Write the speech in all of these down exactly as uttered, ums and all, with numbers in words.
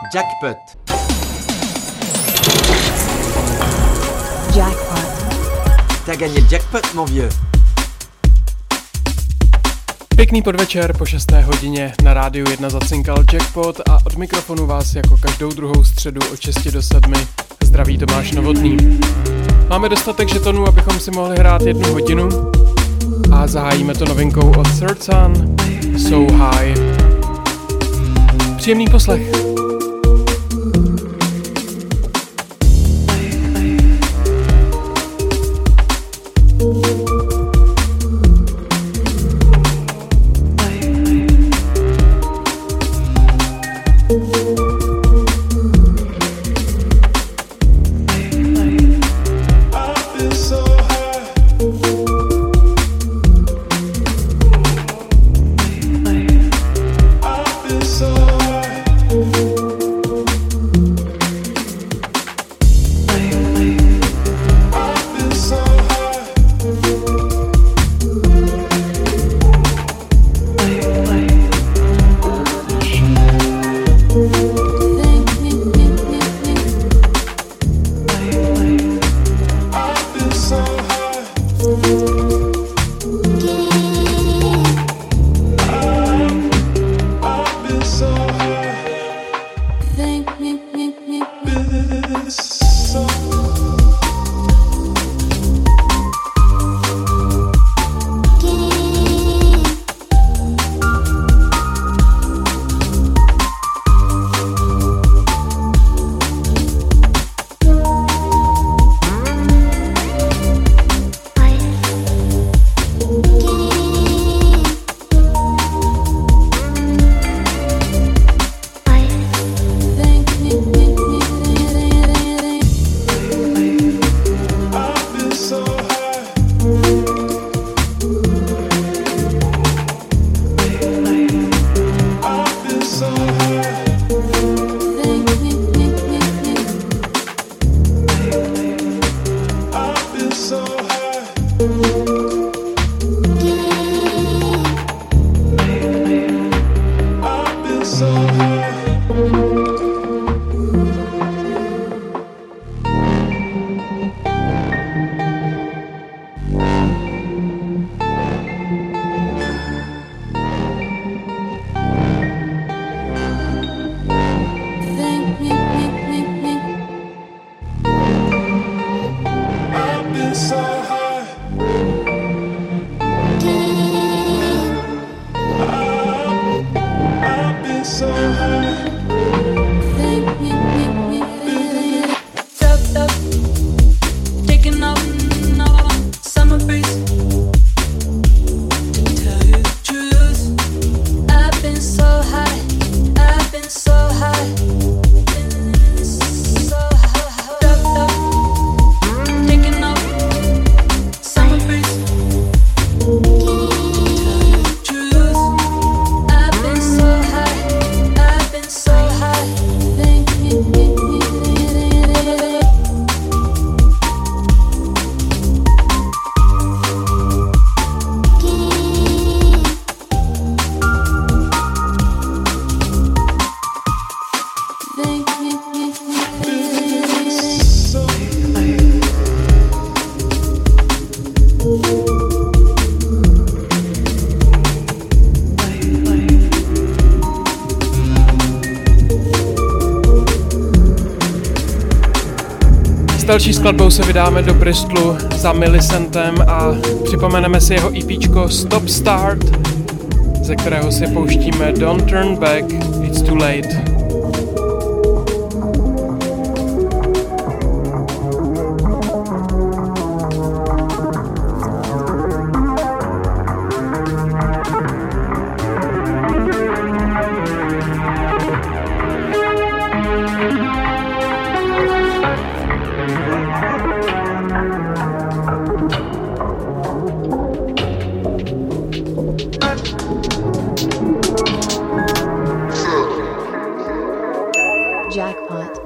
Jackpot. Jackpot. T'as gagné le jackpot, mon vieux. Pěkný podvečer po šesté hodině na rádiu jedna zacinkal Jackpot a od mikrofonu vás jako každou druhou středu od šesti do sedmi zdraví Tomáš Novotný. Máme dostatek žetonů, abychom si mohli hrát jednu hodinu a zahájíme to novinkou od Third Sun, So High. Příjemný poslech. Další skladbou se vydáme do Bristolu za Millicentem a připomeneme si jeho EPčko Stop Start, ze kterého si pouštíme Don't Turn Back, It's Too Late. Jackpot.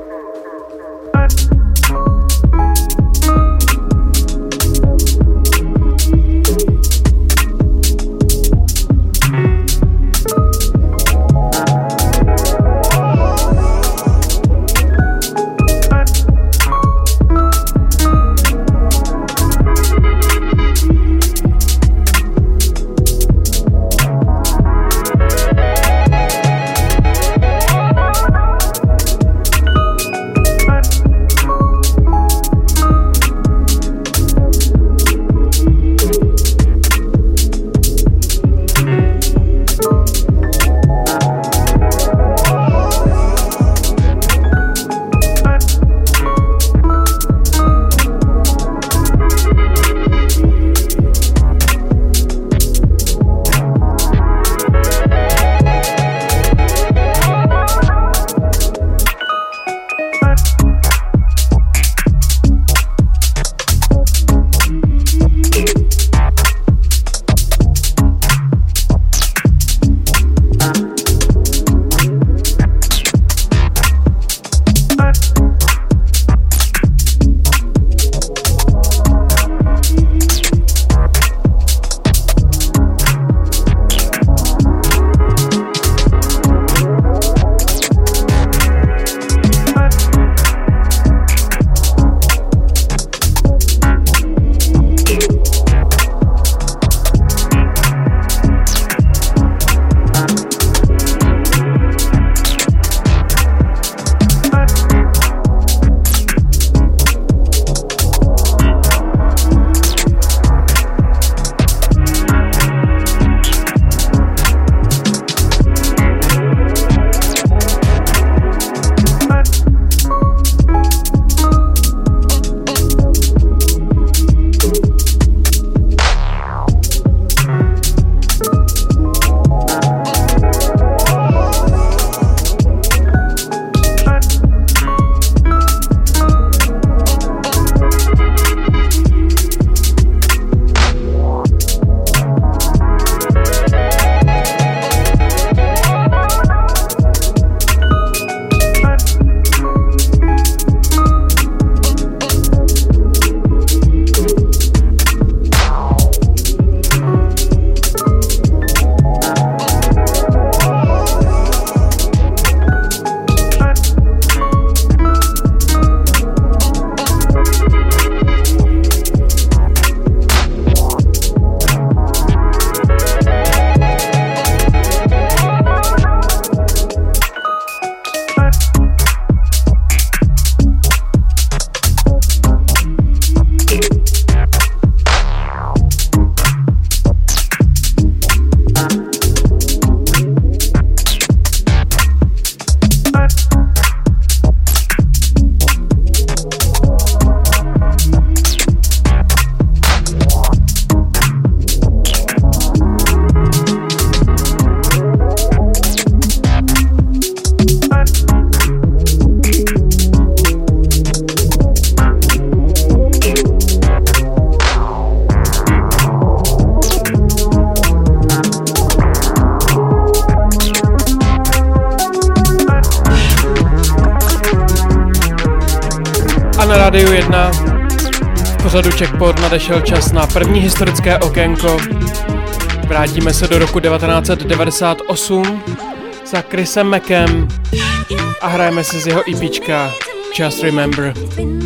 na Rádiu jedna. V pořadu Jackpot nadešel čas na první historické okénko. Vrátíme se do roku devatenáct set devadesát osm za Chrisem Mackem a hrajeme si z jeho EPčka Just Remember.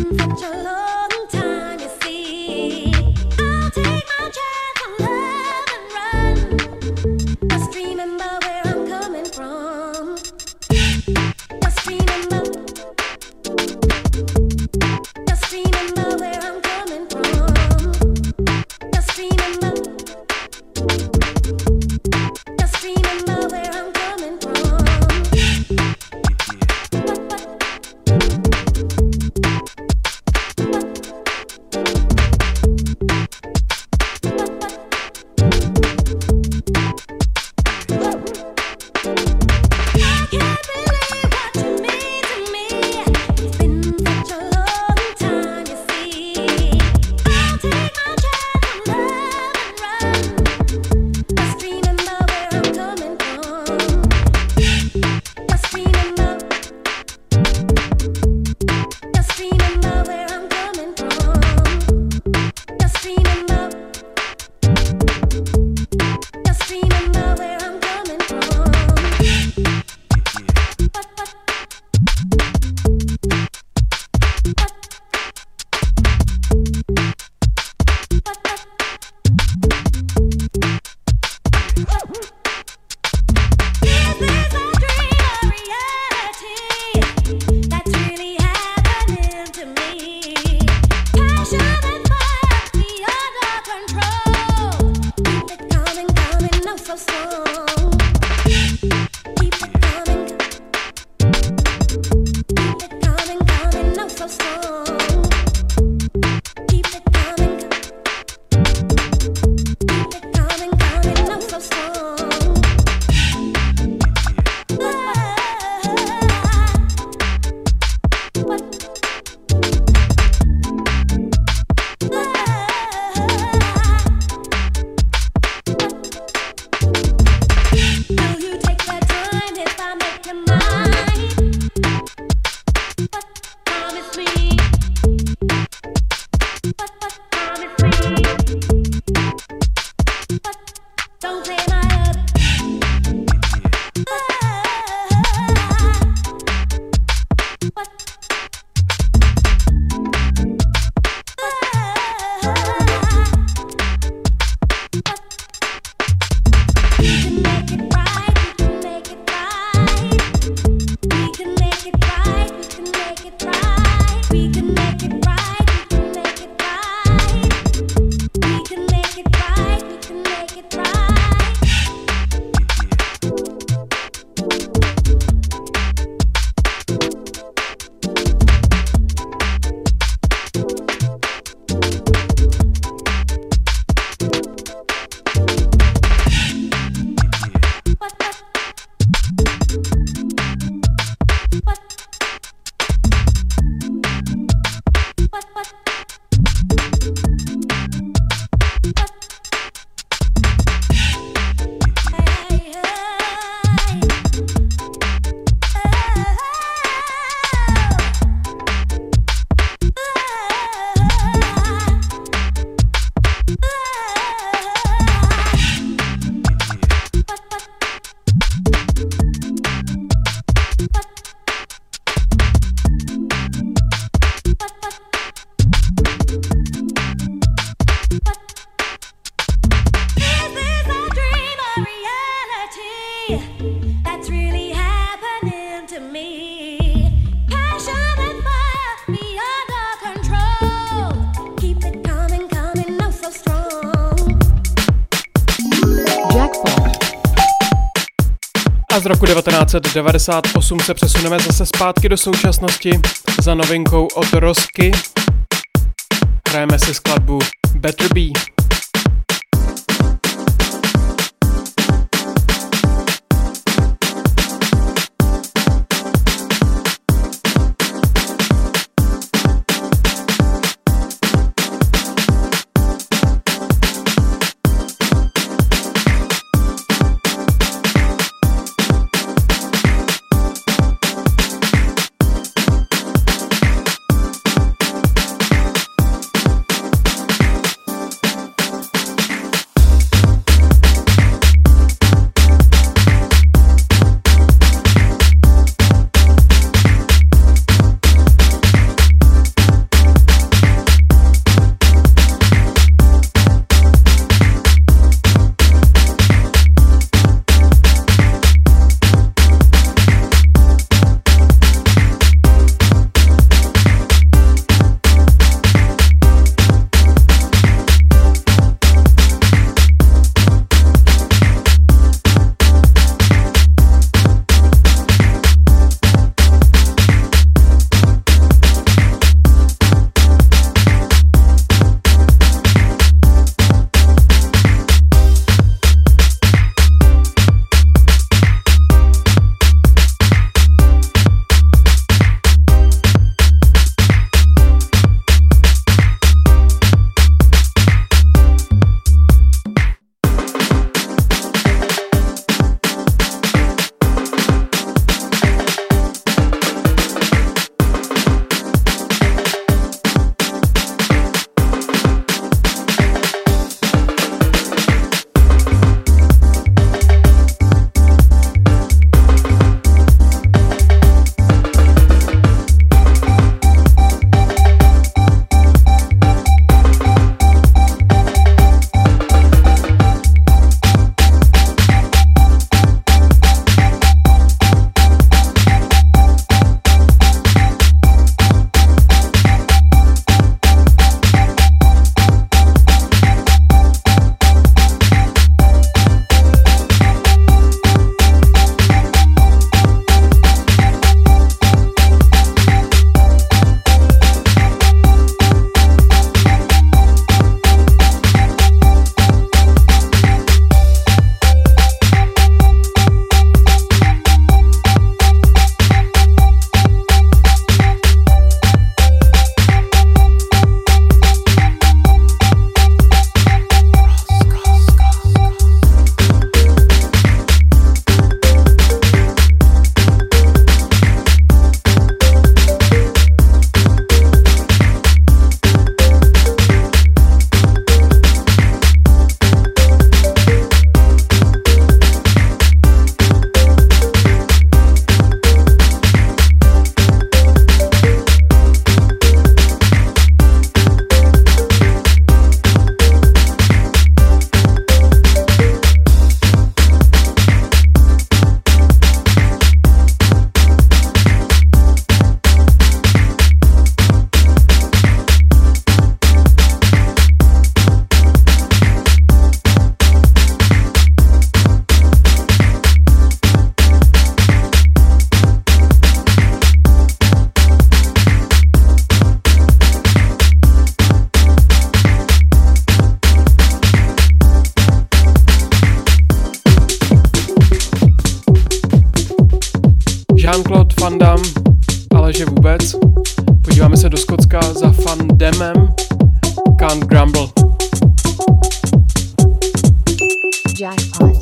A z roku devatenáct set devadesát osm se přesuneme zase zpátky do současnosti za novinkou od Rosky. Hrajeme si skladbu Better Be. Jean-Claude Van Damme, ale že vůbec. Podíváme se do Skotska za Van Dammem, Can't Grumble. Jackpot.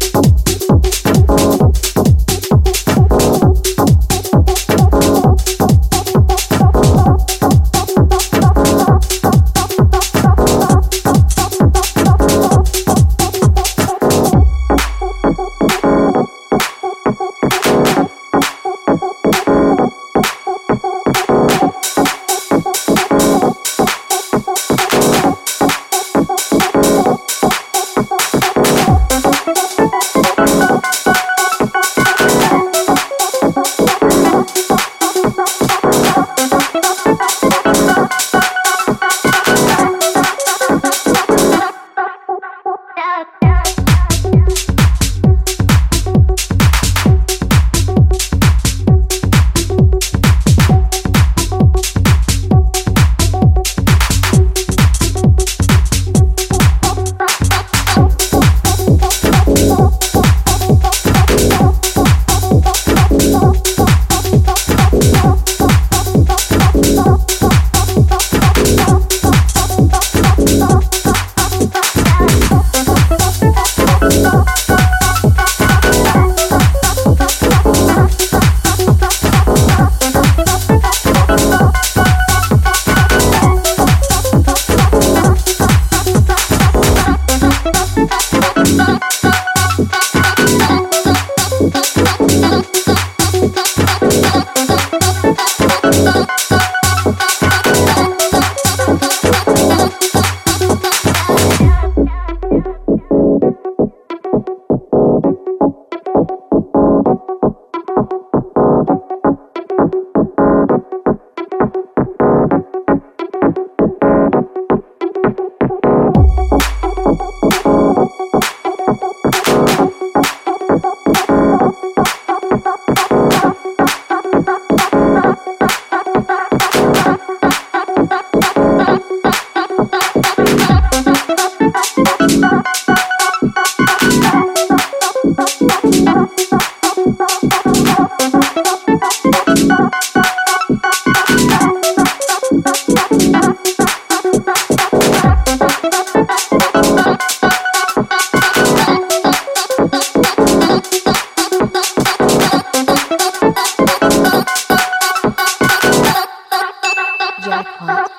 Jackpot.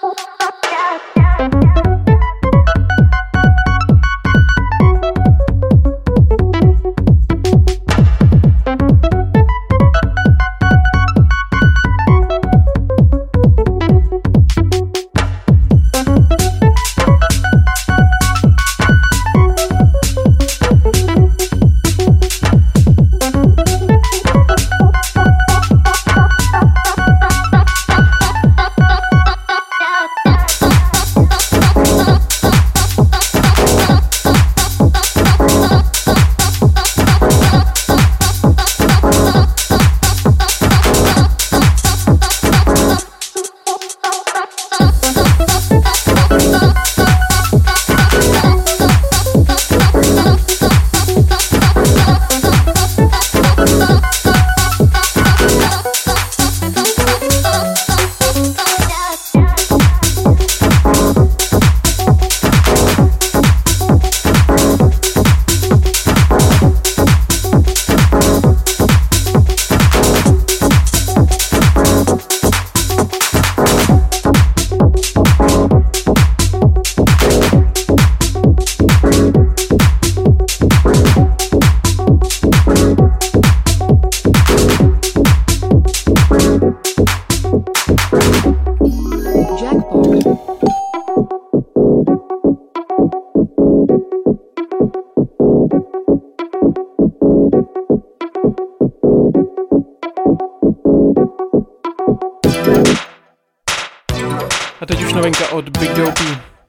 A teď už novinka od Big Dopey.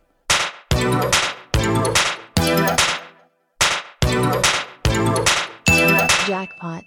Jackpot.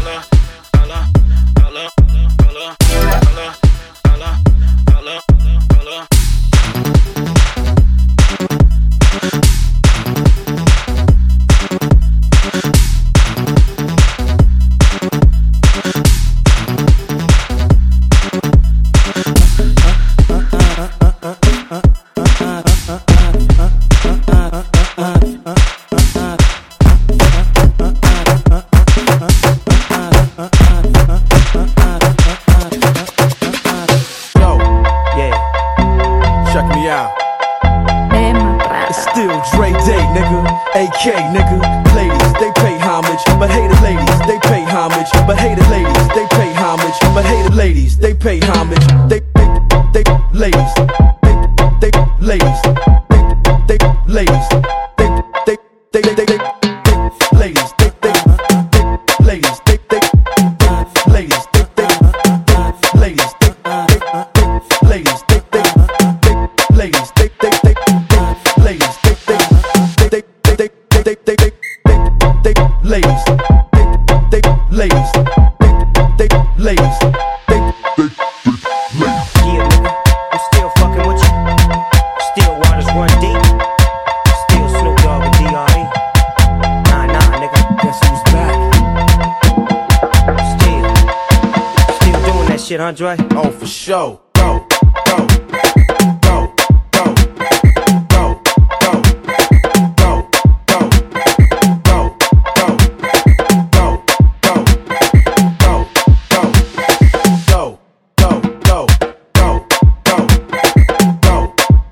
Andre? Oh, for sure. Go, go, go, go, go, go, go, go, go, go, go, go, go, go, go, go, go, go,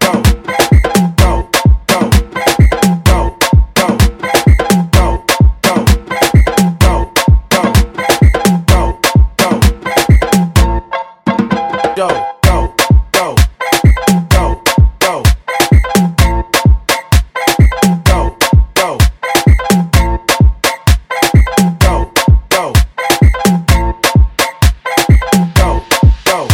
Go, go, go, go, go, go, go, go, go, go, go.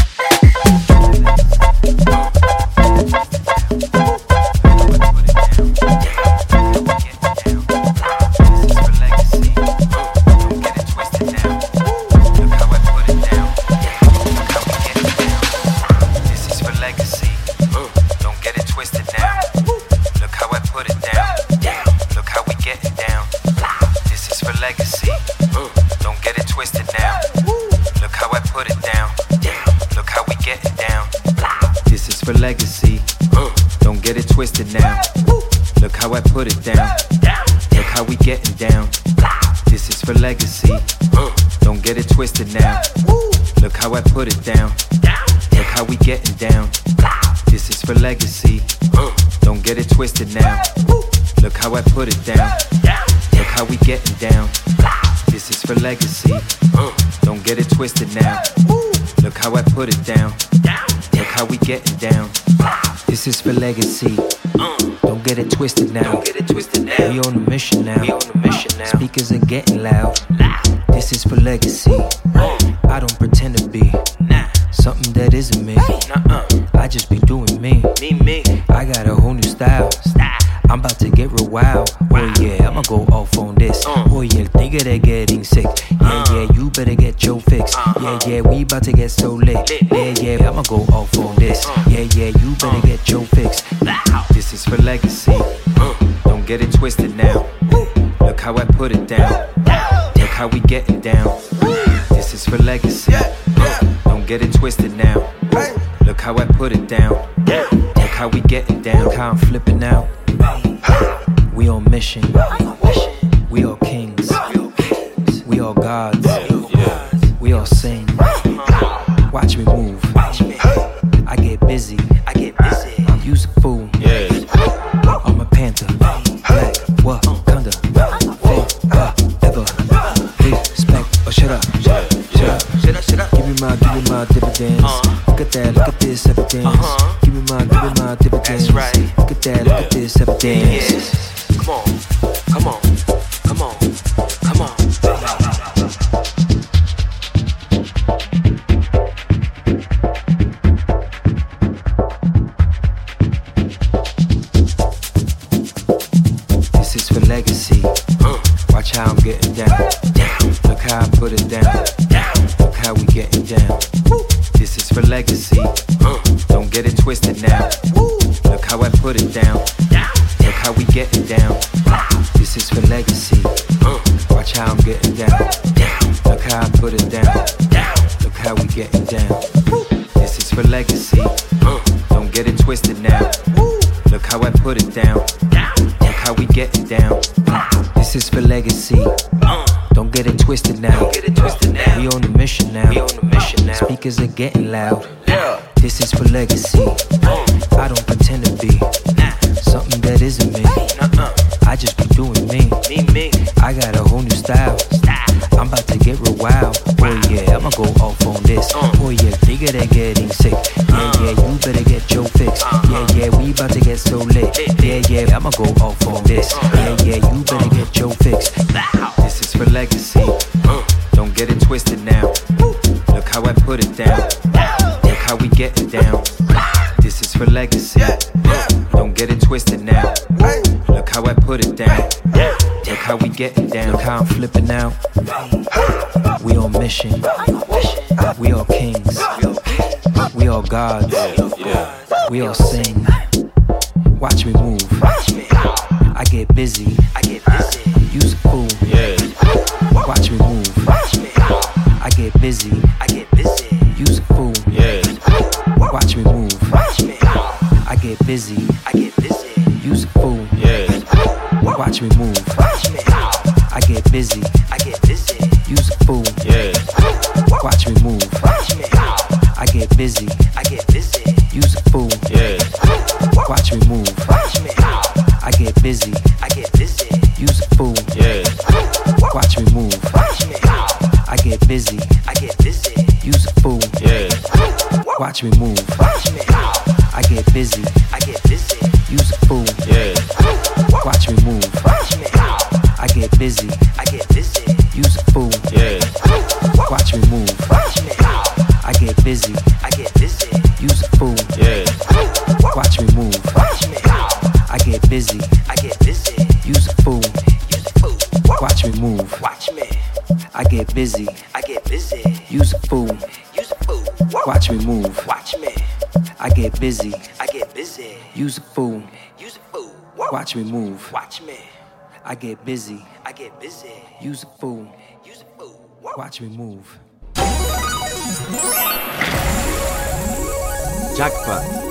Legacy, don't get it twisted now. Look how I put it down. Look how we getting down. This is for legacy. Don't get it twisted now. Look how I put it down. Look how we getting down. This is for legacy. Don't get it twisted now. Look how I put it down. Look how we getting down. This is for legacy. Don't get it twisted now. Look how I put it down. Look how we getting down. This is for legacy. Don't get it twisted now. We on a mission now. Speakers are getting loud. This is for legacy. I don't pretend to be something that isn't me. I just be doing me. I got a whole new style. I'm about to get real wild. Oh yeah, I'ma go off on this. Oh yeah, think they're getting sick. Yeah, yeah, you better get your fix. Yeah, yeah, we about to get so lit. Yeah, yeah, I'ma go off on this. Yeah, yeah, you better get your fix. This is for legacy. Don't get it twisted now. Look how I put it down. Look how we getting down. This is for legacy. Don't get it twisted now. Look how I put it down. Look how we getting down. Look how I'm flipping out. We on mission. We all kings. We all gods. We all sing. Watch me move. I get busy. I get busy. Use a fool. I'm a panther. Black Wakanda. Fake uh, ever. Respect or shut up. Shut up. Shut up. Give me my, give me my dividends. Look at that. Look at this evidence. Give me my, give me my dividends. Look at that. Look at this evidence. Come on, come on, come on, come on. This is for legacy. Watch how I'm getting down. Look how I put it down. Look how we getting down. This is for legacy. Don't get it twisted now. Look how I put it down. Look how we getting down. This is for legacy. Watch how I'm getting down. Look how I put it down. Look how we getting down. This is for legacy. Don't get it twisted now. Look how I put it down. Look how we getting down. This is for legacy. Don't get it twisted now. We on the mission now. Speakers are getting loud. This is for legacy. I don't pretend to be something that isn't me. I just be doing me. I got a whole new style. I'm about to get real wild. Oh yeah, I'ma go off on this. Oh yeah, bigger than getting sick. Yeah, yeah, you better get your fix. Yeah, yeah, we about to get so lit. Yeah, yeah, I'ma go off on this. Yeah, yeah, you better get your fix. This is for legacy. Don't get it twisted now. Look how I put it down. Look how we getting down. This is for legacy. Don't get it twisted now. Look how I put it down. Look how we getting down. Look how I'm flipping out. We on mission. We all kings. We all gods. We all sing. Watch me move. I get busy. Use a fool. Watch me move. I get busy. Use a fool. Watch me move. I get busy. Use a fool. Watch me move. I get busy. Use a fool. Watch me move. I get busy. Use a fool. Watch me move. I get busy. Use a fool. Watch me move. I get busy. Use a fool. Watch me move. I get busy. Use a fool. Watch me move. I get busy. Use a fool. Watch me move. I get busy. Use a fool. Watch me move. I get busy. Use a fool. Watch me move. I get busy. Use a fool. Watch me move. I get busy. Use a fool. Watch me move. I get busy. Use a fool. Watch me move. Jackpot.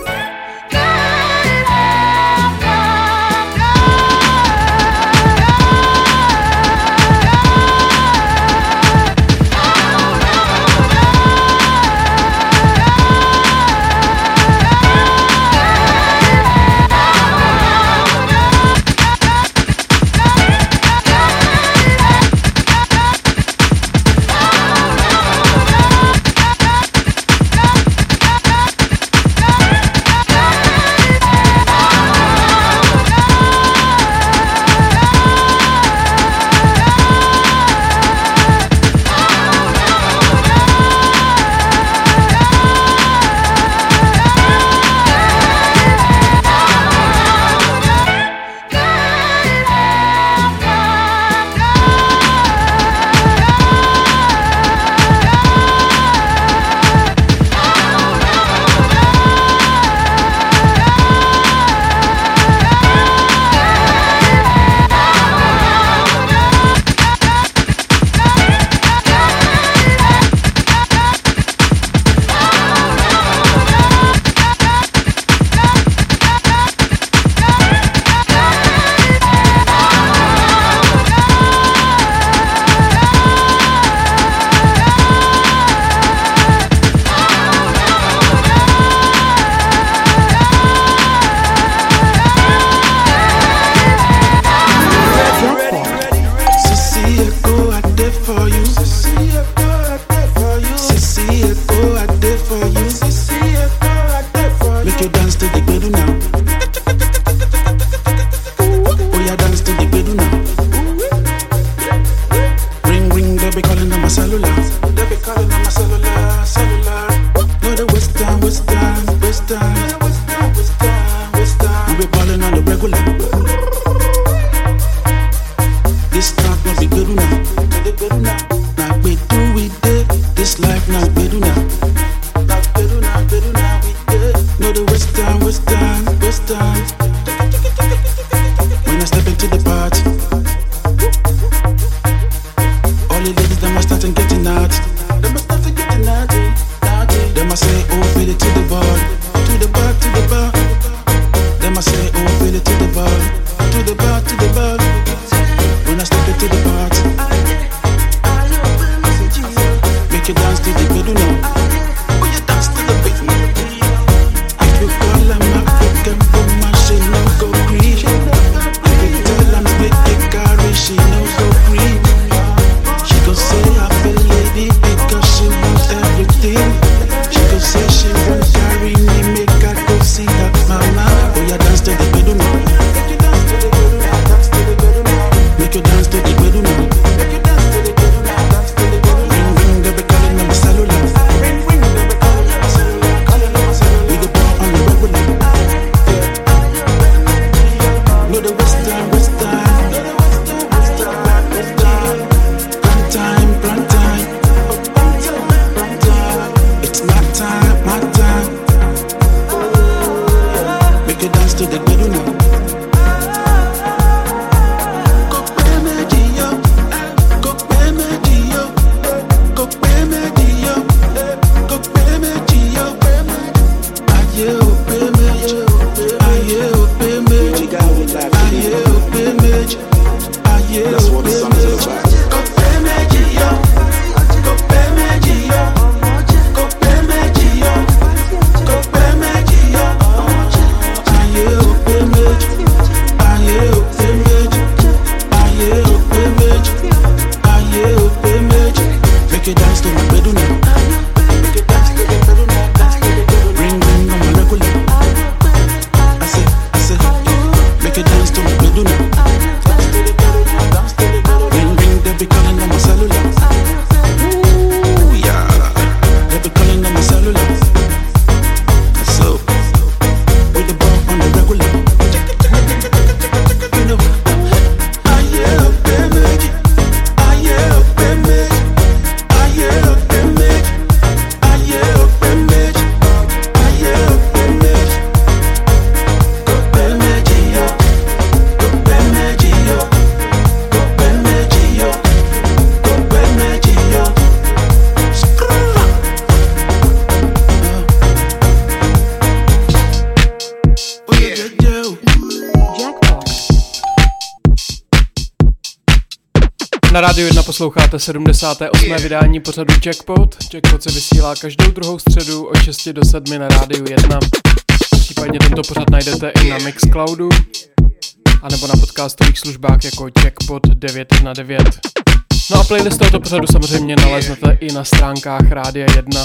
Na Rádiu jedna posloucháte sedmdesátého osmého vydání pořadu Jackpot. Jackpot se vysílá každou druhou středu od šesti do sedmi na Rádiu jedna. Případně tento pořad najdete i na Mixcloudu anebo na podcastových službách jako Jackpot devět jedna devět. No a playlist tohoto pořadu samozřejmě naleznete i na stránkách Rádia jedna.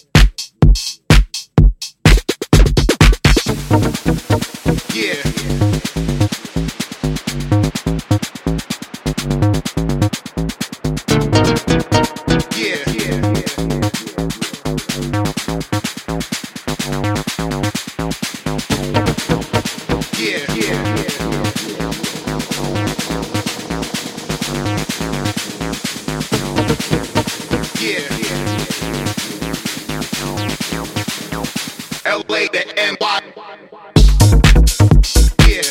Yeah. Yeah. Yeah. Yeah. Yeah. L A to N Y. Yeah.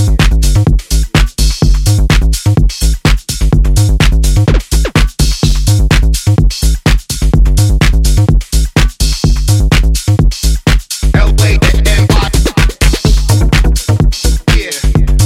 L A to N Y. Yeah.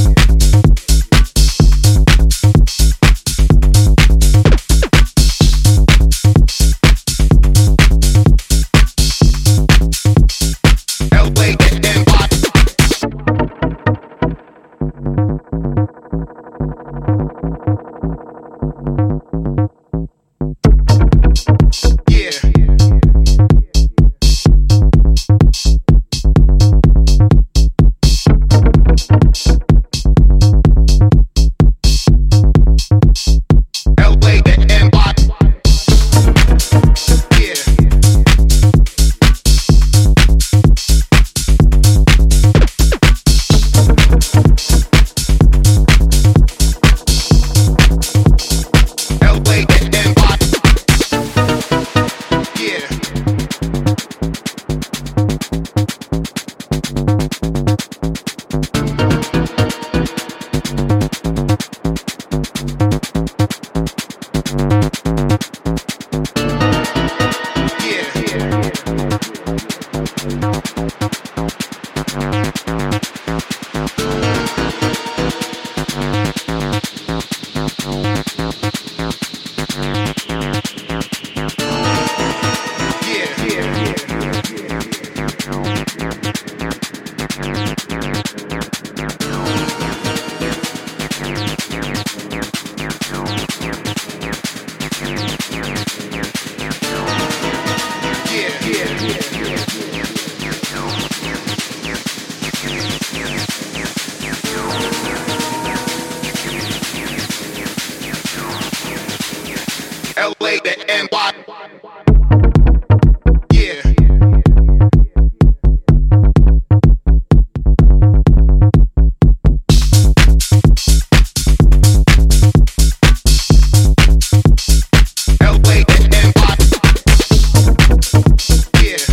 L A to N Y. Yeah. L A to N Y. Yeah.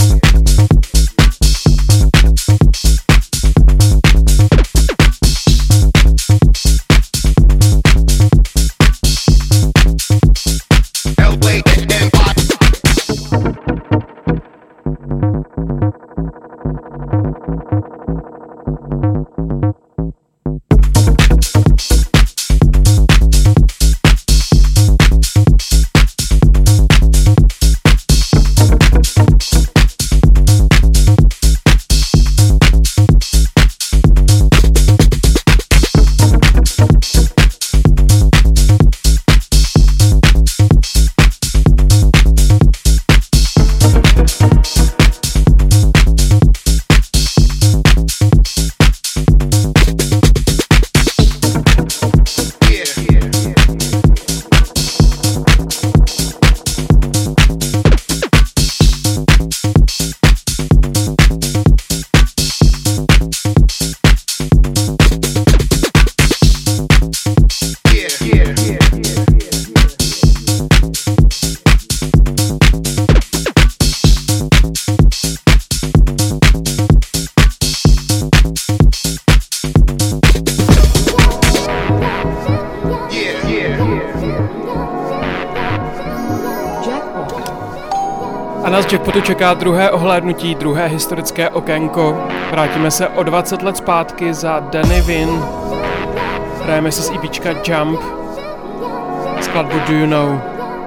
A nás Jackpotu čeká druhé ohlédnutí, druhé historické okénko. Vrátíme se o dvacet let zpátky za Danny Wynn. Hrajeme si z EPčka Jump. skladbu Do You Know.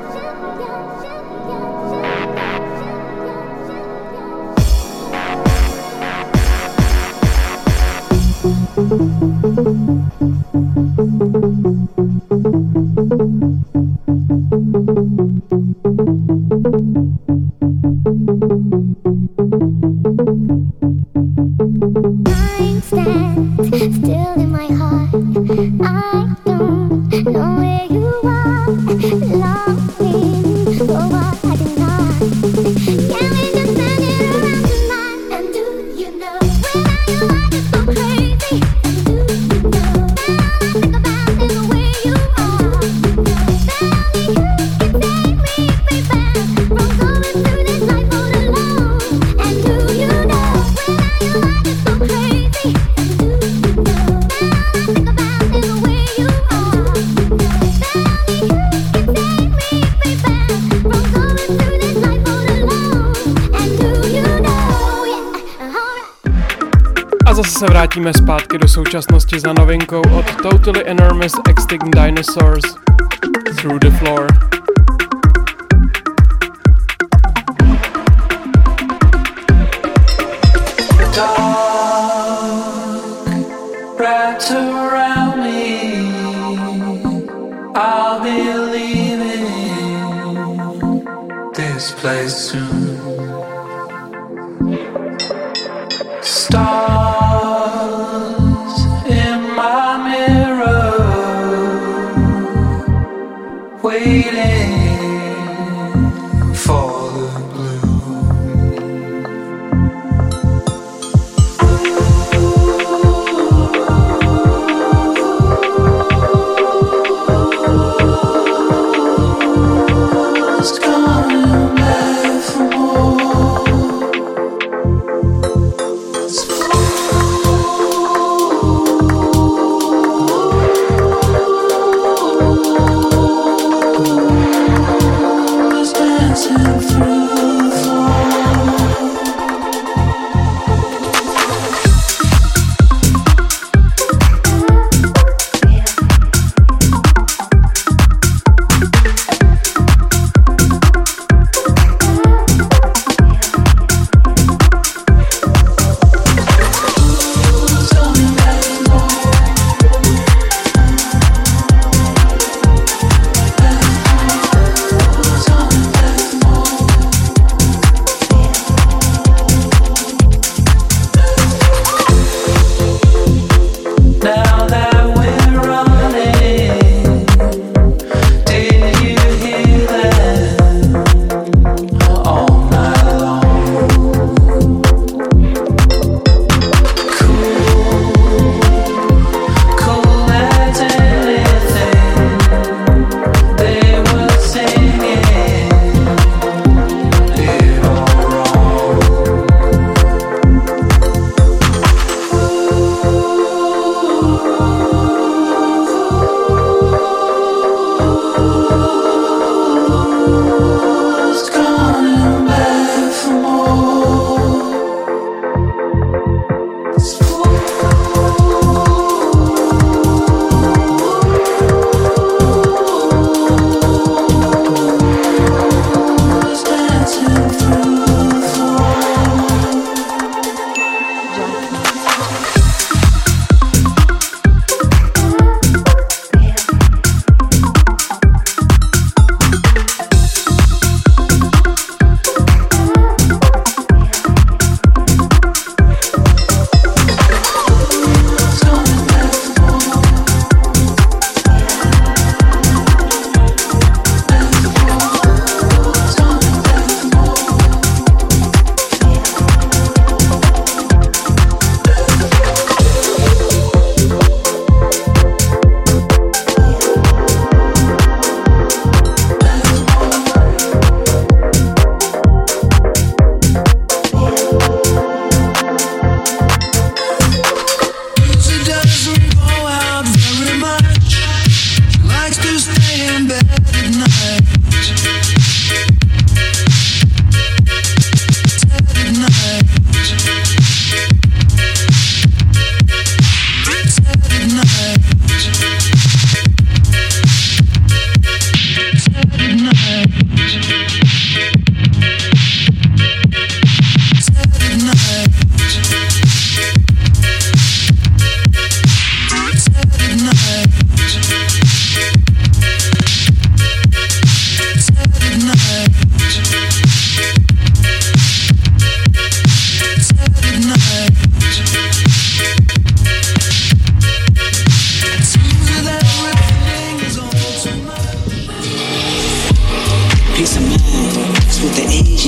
Se vrátíme zpátky do současnosti za novinkou od Totally Enormous Extinct Dinosaurs, Through the Floor.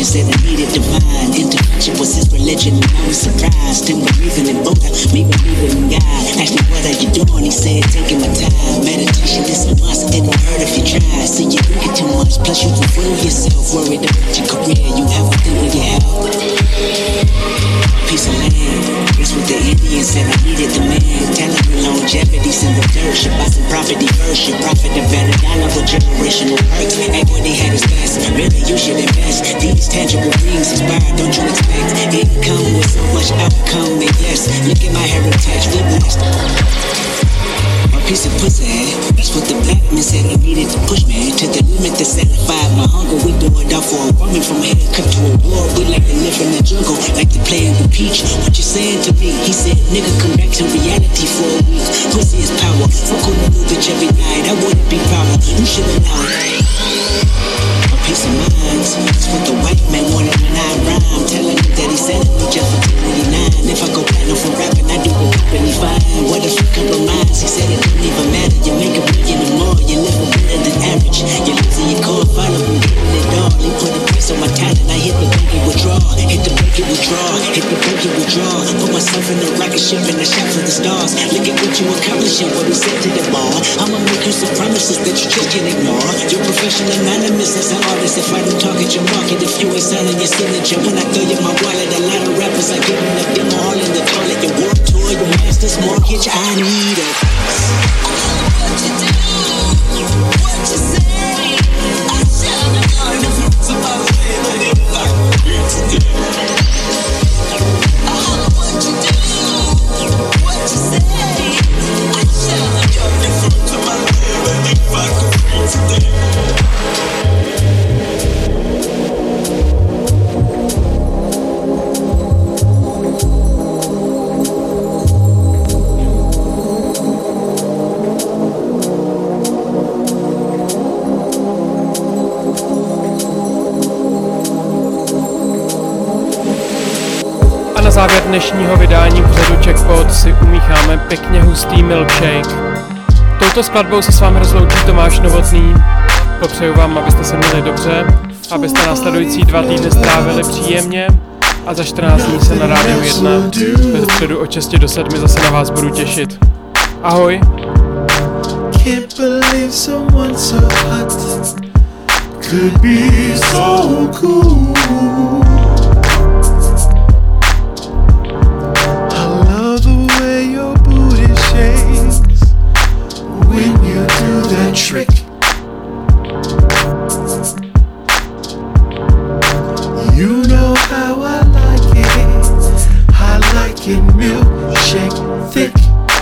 religion said I needed divine intervention was his religion, and I was surprised. Him believing in Buddha, me believing in God. Asked me what are you doing? He said taking my time. Meditation is a must. It won't hurt if you try. See you drink it too much, plus you can fool yourself. Worried about your career, you have to think with your health. Piece of land, that's what the Indians said I needed the man. Telling me longevity's in the dirt. Should buy some property first. Should profit the better dollar with generational perks. Equity had its best. Really, you should invest. These tangible things inspired. Don't you expect income with so much outcome? And yes, look at my heritage. We blessed. Piece of pussy, that's what the black man said I needed to push me to the limit to satisfy my hunger. We do it all for a woman from here cut to a war. We like to live in the jungle, like to play in the peach. What you saying to me? He said, nigga, come back to reality for a week. Pussy is power, fuck on the new bitch every night. I wouldn't be prouder, you should've known. A piece of mind, that's what the white man wanted when I rhyme. Telling me that he selling me just for two ninety-nine. If I go platinum for rapping, I do the company fine. What if you compromise? He said it don't even matter. You make a million or more, you live better than average. You losing your core, follow me, getting it all. He put a price on my talent, I hit the bank and withdraw. Hit the bank and withdraw, hit the bank and withdraw. Put myself in a rocket ship and a shot for the stars. Look at what you accomplishing, what we said to the ball. I'ma make you some promises that you just can't ignore. You're professional anonymous as an artist. If I don't target your market, if you ain't signing your signature, when I throw you my wallet, a lot of rappers are giving a demo all in the toilet. Your warp tour, your master's mortgage, I need it. What you do, what you say, I shall not know the fruits of my labor if I could today. Oh, what you do, what you say, I shall not know the fruits of my labor if I could today. Na závěr dnešního vydání pořadu Jackpot si umícháme pěkně hustý milkshake. Touto skladbou se s vámi rozloučí Tomáš Novotný. Popřeju vám, abyste se měli dobře, abyste následující dva týdny strávili příjemně a za čtrnáct dní se na Rádiu jedna ve středu od šesti do sedmi zase na vás budu těšit. Ahoj! Can't believe someone so hot could be so cool. When you do that trick, you know how I like it. I like it milkshake thick.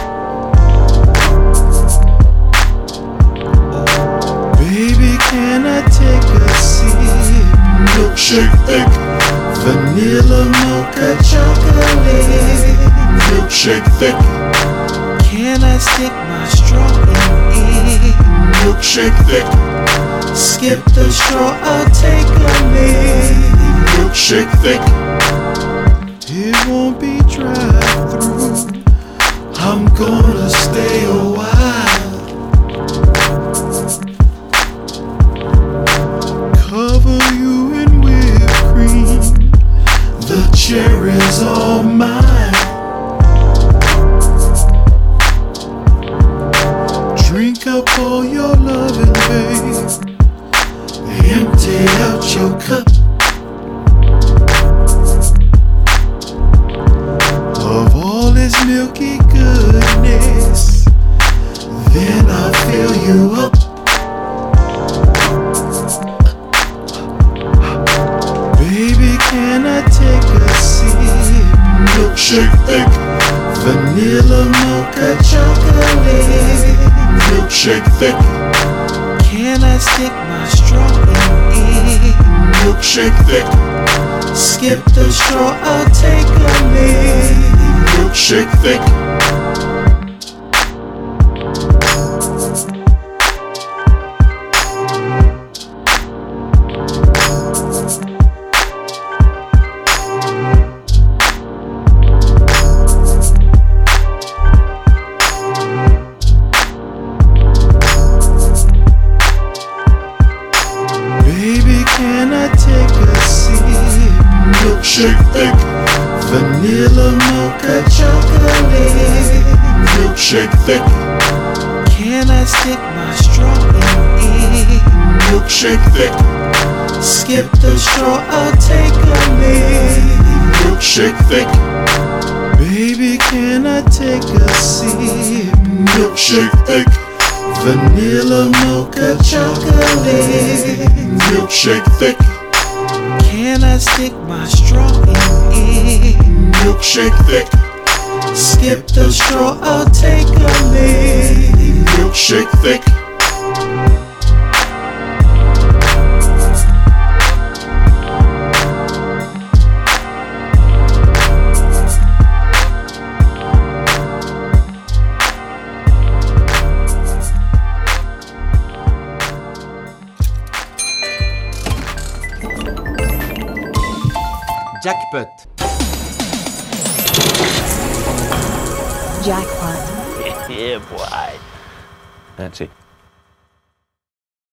Baby, can I take a sip? Milkshake thick. Vanilla mocha chocolate. Milkshake thick. Can I stick my straw in it? Milkshake thick. Skip the straw, I'll take a nip. Milkshake thick. It won't be dry through. I'm gonna stay a while. Cover you in whipped cream. The cherries are mine. Drink up all your loving, babe. Empty out your cup. Of all this milky goodness, then I'll fill you up. Baby, can I take a sip? Milkshake thick. Vanilla mocha chocolate. Milkshake thick. Can I stick my straw in it? Milkshake thick. Skip the straw, I'll take a nip. Milkshake thick. Baby, can I take a seat? milkshake thick, vanilla mocha chocolate, milkshake thick. Can I stick my straw in it? Milkshake thick. Skip the straw, I'll take a leak. Milkshake thick. Baby, can I take a sip? Milkshake thick. Vanilla mocha chocolate, milkshake thick. Can I stick my straw in it? Milkshake thick. Skip the straw, I'll take a leak. Milkshake thick. Jackpot. Jackpot. Yeah, boy. That's it.